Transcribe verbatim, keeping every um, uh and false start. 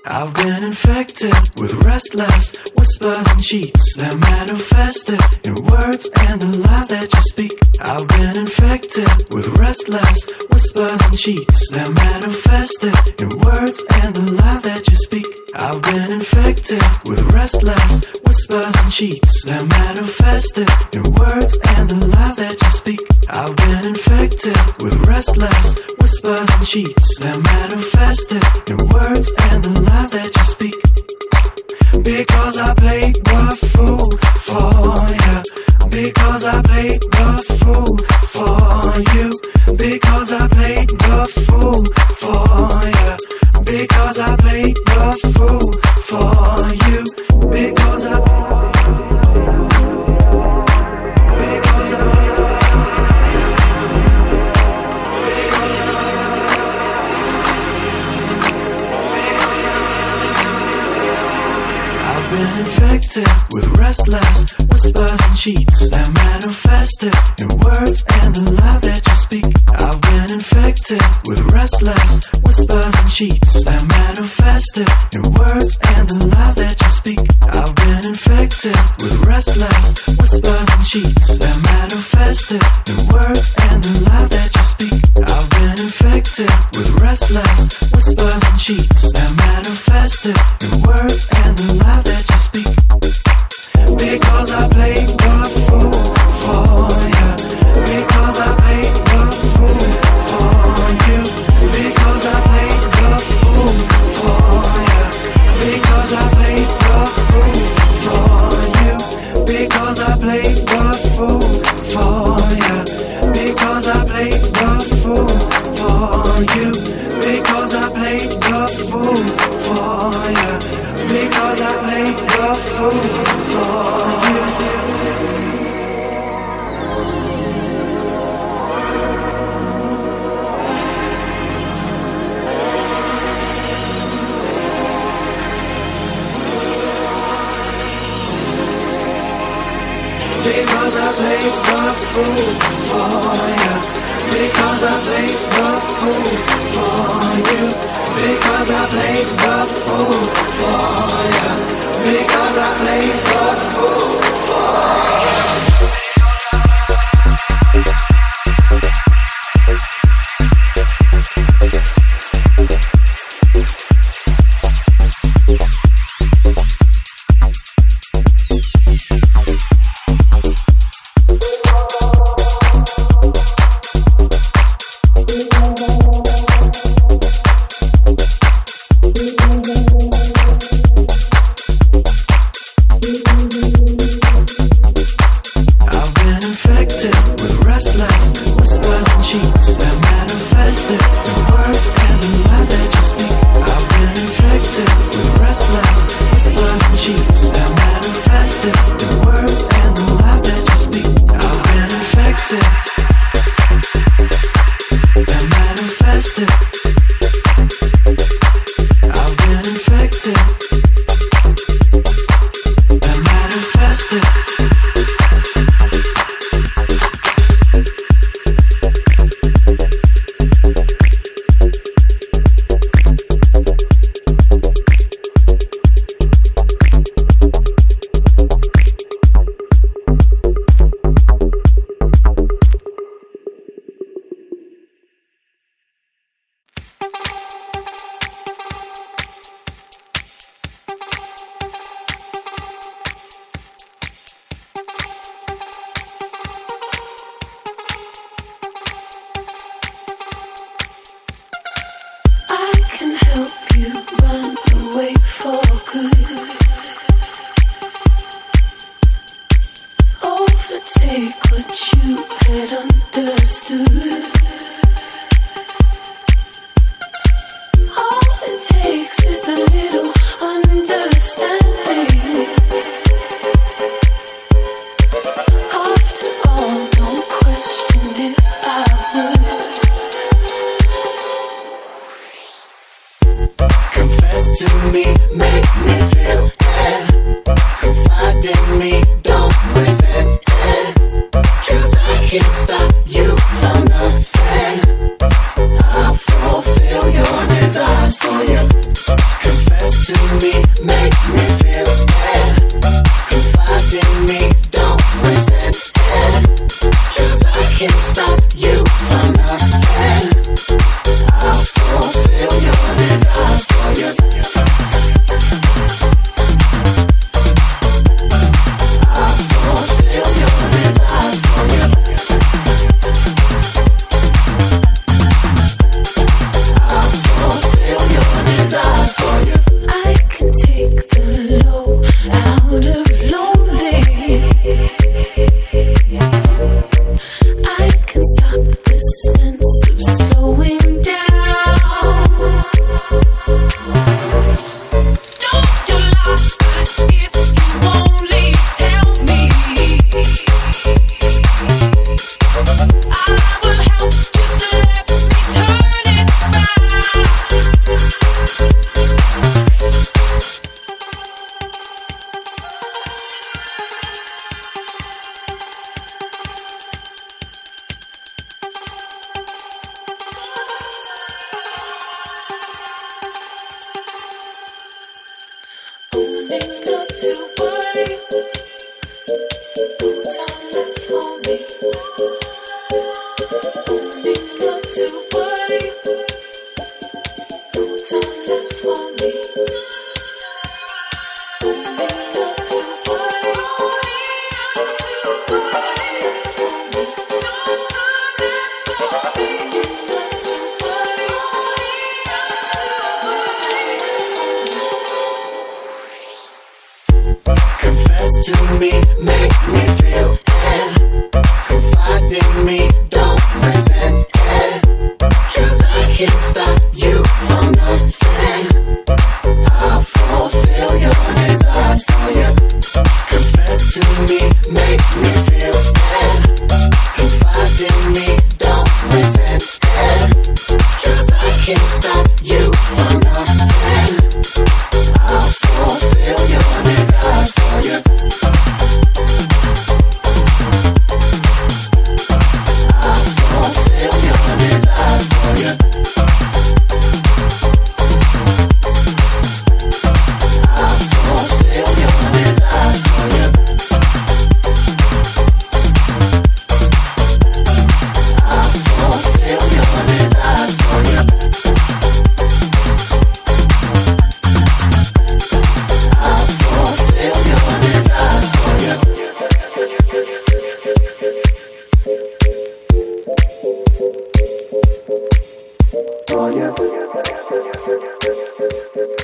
I've been infected with restless whispers and cheats that manifested in words and the lies that you speak. I've been infected with restless whispers and cheats that manifested in words and the lies that you speak. I've been infected with restless whispers and cheats that manifested in words and the lies that you speak. I've been infected with restless whispers and cheats that manifested in words and the lies that you speak. Because I played the fool for you. Because I played the fool for you. Because I played the fool for you. Because I played the fool for you. Because I Because I I've been infected with restless whispers and cheats that manifested in words and the lies that you speak. I've been infected with restless whispers and cheats that manifested in words and the lies that you speak. I've been infected with restless whispers and cheats that manifested in words and the lies that you speak. I've been infected with restless whispers and cheats that manifested in words and the lies that you speak. Because I played the fool for you. Because I played the fool for you. Because I played the fool for you. Because I played the fool for you. Because I played the fool for you. Because I played the fool for you. Because I played the fool for you. Because I played the fool for you. Because I played the fool for you. Because I played the fool for you. Because I played the fool for you. Because I played the fool for you. Desires for you. Confess me, make me feel bad. Confide in me, don't resent it. 'Cause I can't stop you from nothing. I'll fulfill your desires for you. I'll fulfill your desires for you. I'll fulfill your desires for you. I can take the low out of lonely. I can stop the sense of slowing down. Don't you lie if you only tell me. I will help, just let me turn it round. Owning up to worry, no time left for me. Owning up to worry, no time left for me. Owning up to worry, no time left for me. Owning up to worry, no time left for me. Confess to me, make me feel it. Confide in me, don't resent it. 'Cause I can't stop you from nothing. I'll fulfill your desires for you. Confess to me, make me feel it. Confide in me, don't resent it. 'Cause I can't stop you from nothing. I'll fulfill your desires for you. I'll fulfill your desires for you. I'll fulfill your desires for you. I'll fulfill your desires for you. I'll fulfill your desires for you. For you.